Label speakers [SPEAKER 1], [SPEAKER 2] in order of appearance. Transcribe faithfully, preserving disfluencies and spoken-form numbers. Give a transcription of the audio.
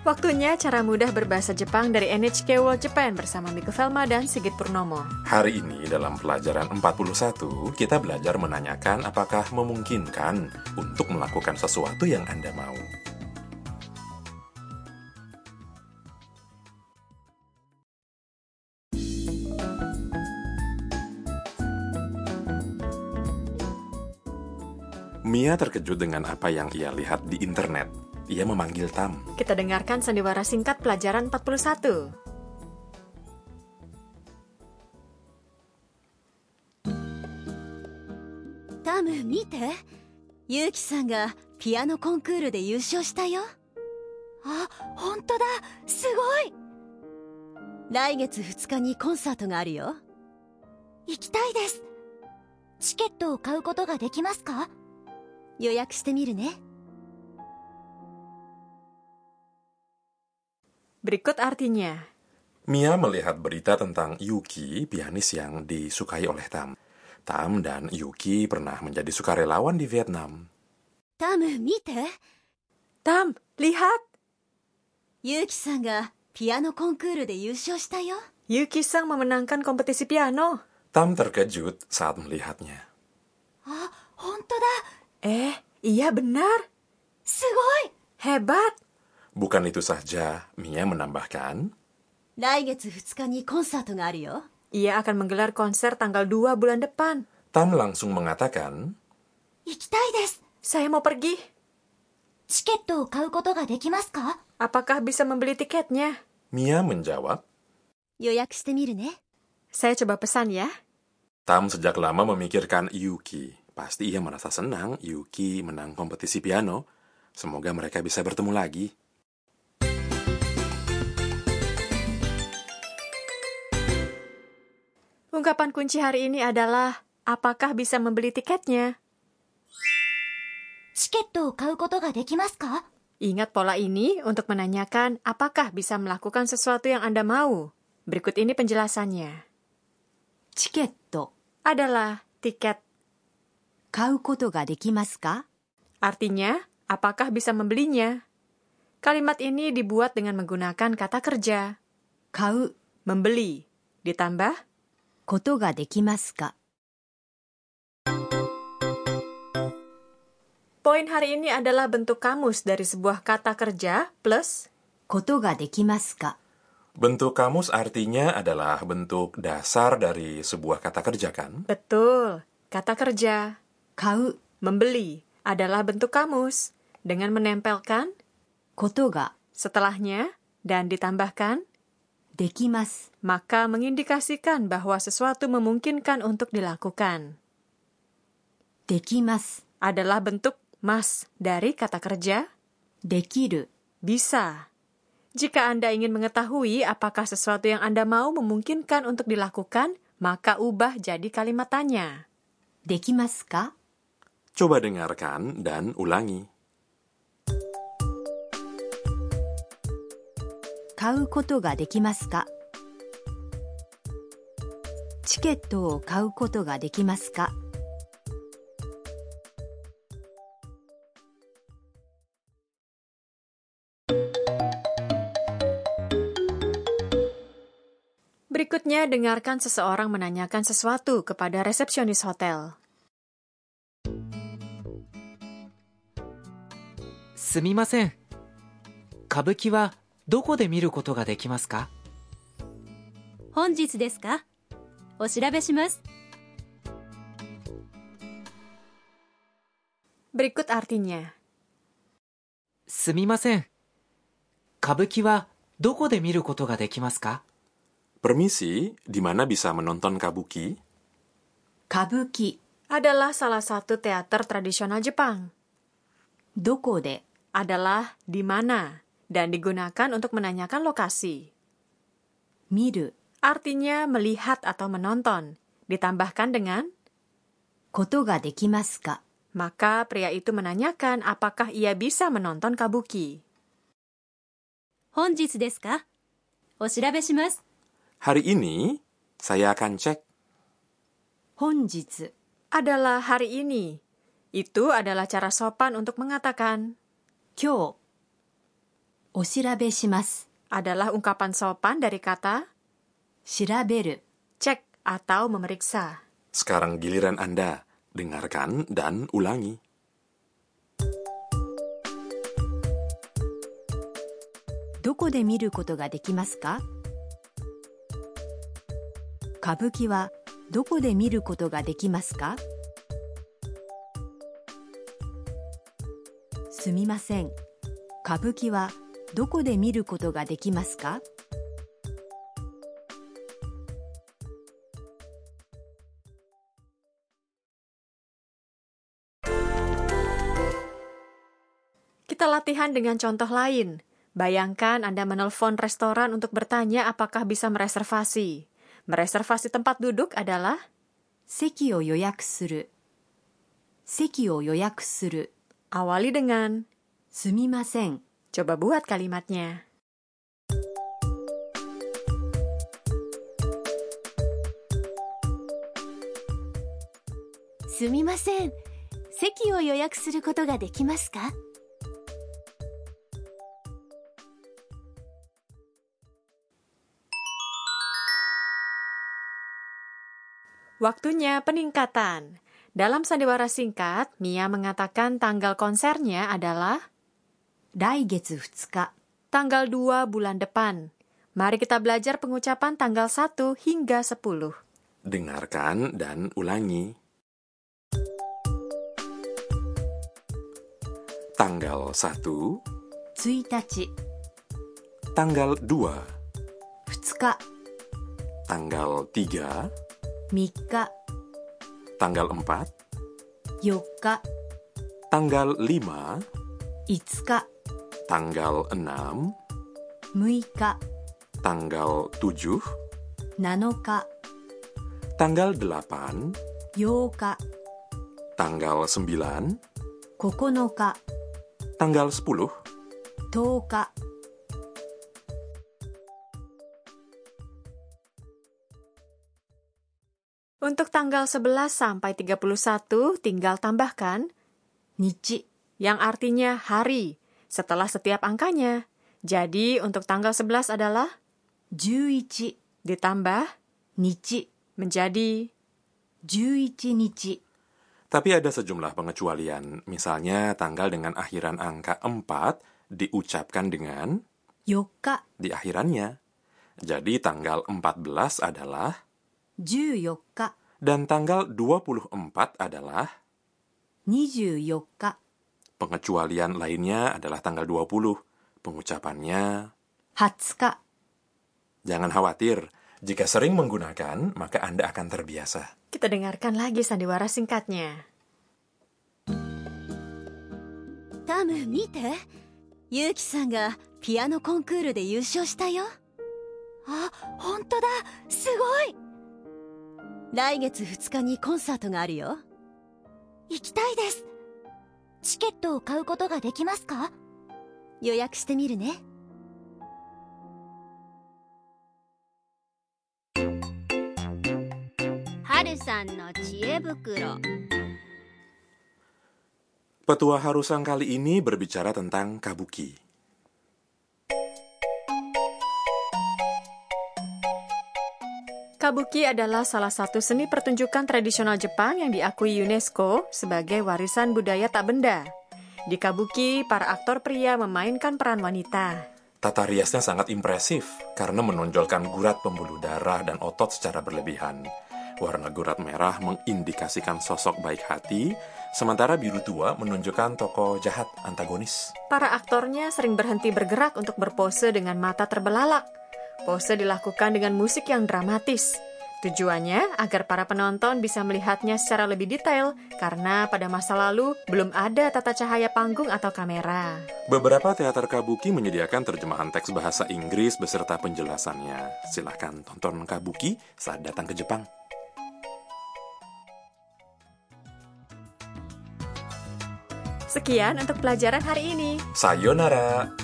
[SPEAKER 1] Waktunya cara mudah berbahasa Jepang dari N H K World Japan bersama Miko Velma dan Sigit Purnomo.
[SPEAKER 2] Hari ini dalam pelajaran empat puluh satu, kita belajar menanyakan apakah memungkinkan untuk melakukan sesuatu yang Anda mau. Mia terkejut dengan apa yang ia lihat di internet. Ia memanggil Tam.
[SPEAKER 1] Kita dengarkan sandiwara singkat pelajaran empat puluh satu.
[SPEAKER 3] Tam, 見て。ユウキさんがピアノコンクールで優勝したよ。あ、本当だ。すごい。来月ふつかにコンサートがあるよ。行きたいです。チケットを買うことができますか？予約してみるね。
[SPEAKER 1] Berikut artinya.
[SPEAKER 2] Mia melihat berita tentang Yuki, pianis yang disukai oleh Tam. Tam dan Yuki pernah menjadi sukarelawan di Vietnam.
[SPEAKER 3] Tam, 見て。
[SPEAKER 1] Tam, lihat.
[SPEAKER 3] ユウキさんがピアノコンクールで優勝したよ。
[SPEAKER 1] Yuki-san memenangkan kompetisi piano.
[SPEAKER 2] Tam terkejut saat melihatnya.
[SPEAKER 3] Ah, 本当だ。
[SPEAKER 1] Eh, iya benar.
[SPEAKER 3] すごい。
[SPEAKER 1] Hebat.
[SPEAKER 2] Bukan itu saja, Mia menambahkan,
[SPEAKER 3] 来月ふつかにコンサートがあるよ。
[SPEAKER 1] Ia akan menggelar konser tanggal dua bulan depan.
[SPEAKER 2] Tam langsung mengatakan,
[SPEAKER 3] 行きたいです。
[SPEAKER 1] Saya mau pergi.
[SPEAKER 3] チケットを買うことができますか？
[SPEAKER 1] Apakah bisa membeli tiketnya?
[SPEAKER 2] Mia menjawab,
[SPEAKER 3] 予約してみるね。
[SPEAKER 1] Saya coba pesan ya.
[SPEAKER 2] Tam sejak lama memikirkan Yuki. Pasti ia merasa senang Yuki menang kompetisi piano. Semoga mereka bisa bertemu lagi.
[SPEAKER 1] Ungkapan kunci hari ini adalah, apakah bisa membeli tiketnya?
[SPEAKER 3] チケットを買うことができますか？
[SPEAKER 1] Ingat pola ini untuk menanyakan apakah bisa melakukan sesuatu yang Anda mau. Berikut ini penjelasannya.
[SPEAKER 3] チケット
[SPEAKER 1] Adalah tiket.
[SPEAKER 3] 買うことができますか？
[SPEAKER 1] Artinya, apakah bisa membelinya? Kalimat ini dibuat dengan menggunakan kata kerja.
[SPEAKER 3] 買う
[SPEAKER 1] Membeli. Ditambah,
[SPEAKER 3] ことができますか？
[SPEAKER 1] poin hari ini adalah bentuk kamus dari sebuah kata kerja plus
[SPEAKER 3] ことができますか？
[SPEAKER 2] Bentuk kamus artinya adalah bentuk dasar dari sebuah kata kerja, kan?
[SPEAKER 1] betul, kata kerja.
[SPEAKER 3] 買う
[SPEAKER 1] Membeli adalah bentuk kamus dengan menempelkan
[SPEAKER 3] ことが
[SPEAKER 1] setelahnya dan ditambahkan
[SPEAKER 3] できます。
[SPEAKER 1] maka mengindikasikan bahwa sesuatu memungkinkan untuk dilakukan.
[SPEAKER 3] できます。
[SPEAKER 1] Adalah bentuk mas dari kata kerja
[SPEAKER 3] できる
[SPEAKER 1] bisa. Jika Anda ingin mengetahui apakah sesuatu yang Anda mau memungkinkan untuk dilakukan, maka ubah jadi kalimat tanya.
[SPEAKER 3] できますか？
[SPEAKER 2] Coba dengarkan dan ulangi.
[SPEAKER 3] 買うことができますか？チケットを買うことができますか？
[SPEAKER 1] Berikutnya, dengarkan seseorang menanyakan sesuatu kepada resepsionis hotel.
[SPEAKER 4] すみません。歌舞伎はどこで見ることができますか？
[SPEAKER 3] 本日ですか？お調べします。
[SPEAKER 1] Berikut artinya.
[SPEAKER 4] すみません。歌舞伎はどこで見ることができますか？
[SPEAKER 2] Permisi, di mana bisa menonton kabuki?
[SPEAKER 3] 歌舞伎
[SPEAKER 1] Adalah salah satu teater tradisional Jepang.
[SPEAKER 3] どこで
[SPEAKER 1] Adalah di mana dan digunakan untuk menanyakan lokasi.
[SPEAKER 3] 見る
[SPEAKER 1] Artinya melihat atau menonton. Ditambahkan dengan
[SPEAKER 3] ことができますか？
[SPEAKER 1] maka pria itu menanyakan apakah ia bisa menonton kabuki.
[SPEAKER 3] 本日ですか？お調べします。
[SPEAKER 2] Hari ini, saya akan cek.
[SPEAKER 3] 本日
[SPEAKER 1] Adalah hari ini. Itu adalah cara sopan untuk mengatakan
[SPEAKER 3] 今日お調べします
[SPEAKER 1] adalah ungkapan sopan dari kata
[SPEAKER 3] 調べる
[SPEAKER 1] cek atau memeriksa.
[SPEAKER 2] Sekarang giliran Anda. Dengarkan dan ulangi.
[SPEAKER 3] どこで見ることができますか歌舞伎はどこで見ることができますかすみません。歌舞伎はどこで見ることができますか
[SPEAKER 1] Kita latihan dengan contoh lain. Bayangkan Anda menelpon restoran untuk bertanya apakah bisa mereservasi. Mereservasi tempat duduk adalah
[SPEAKER 3] 席を予約する席を予約する
[SPEAKER 1] awali dengan
[SPEAKER 3] すみません
[SPEAKER 1] coba buat kalimatnya.
[SPEAKER 3] すみません。席を予約することができますか
[SPEAKER 1] Waktunya peningkatan. Dalam sandiwara singkat, Mia mengatakan tanggal konsernya adalah
[SPEAKER 3] 来月ふつか
[SPEAKER 1] tanggal dua bulan depan. Mari kita belajar pengucapan tanggal satu hingga sepuluh.
[SPEAKER 2] Dengarkan dan ulangi. Tanggal satu,
[SPEAKER 3] ついたち
[SPEAKER 2] tanggal dua,
[SPEAKER 3] ふつか
[SPEAKER 2] tanggal tiga,
[SPEAKER 3] みっか
[SPEAKER 2] tanggal empat,
[SPEAKER 3] よっか
[SPEAKER 2] tanggal lima,
[SPEAKER 3] いつか
[SPEAKER 2] tanggal enam,
[SPEAKER 3] むいか
[SPEAKER 2] tanggal tujuh,
[SPEAKER 3] なのか
[SPEAKER 2] tanggal delapan,
[SPEAKER 3] ようか
[SPEAKER 2] tanggal sembilan,
[SPEAKER 3] ここのか
[SPEAKER 2] tanggal sepuluh,
[SPEAKER 3] とおか
[SPEAKER 1] Untuk tanggal sebelas sampai tiga puluh satu tinggal tambahkan
[SPEAKER 3] 日
[SPEAKER 1] yang artinya hari setelah setiap angkanya. Jadi untuk tanggal sebelas adalah
[SPEAKER 3] じゅういち
[SPEAKER 1] ditambah
[SPEAKER 3] 日
[SPEAKER 1] menjadi
[SPEAKER 3] じゅういちにち
[SPEAKER 2] Tapi ada sejumlah pengecualian. Misalnya tanggal dengan akhiran angka empat diucapkan dengan
[SPEAKER 3] よっか
[SPEAKER 2] di akhirannya. Jadi tanggal empat belas adalah
[SPEAKER 3] じゅうよっか
[SPEAKER 2] dan tanggal dua puluh empat adalah
[SPEAKER 3] にじゅうよっか
[SPEAKER 2] pengecualian lainnya adalah tanggal dua puluh. Pengucapannya
[SPEAKER 3] はつか
[SPEAKER 2] jangan khawatir. Jika sering menggunakan, maka Anda akan terbiasa.
[SPEAKER 1] Kita dengarkan lagi sandiwara singkatnya.
[SPEAKER 3] タム見てユウキさんがピアノコンクールで優勝したよあ、本当だすごい来月ふつかにコンサートがあるよ行きたいですチケットを買うことができますか予約してみるねはるさんの知恵袋
[SPEAKER 2] Petua Harusang kali ini berbicara tentang kabuki.
[SPEAKER 1] Kabuki adalah salah satu seni pertunjukan tradisional Jepang yang diakui UNESCO sebagai warisan budaya tak benda. Di kabuki, para aktor pria memainkan peran wanita.
[SPEAKER 2] Tata riasnya sangat impresif karena menonjolkan gurat pembuluh darah dan otot secara berlebihan. Warna gurat merah mengindikasikan sosok baik hati, sementara biru tua menunjukkan tokoh jahat antagonis.
[SPEAKER 1] Para aktornya sering berhenti bergerak untuk berpose dengan mata terbelalak. Pose dilakukan dengan musik yang dramatis. Tujuannya agar para penonton bisa melihatnya secara lebih detail, karena pada masa lalu belum ada tata cahaya panggung atau kamera.
[SPEAKER 2] Beberapa teater kabuki menyediakan terjemahan teks bahasa Inggris beserta penjelasannya. Silahkan tonton kabuki saat datang ke Jepang.
[SPEAKER 1] Sekian untuk pelajaran hari ini.
[SPEAKER 2] Sayonara!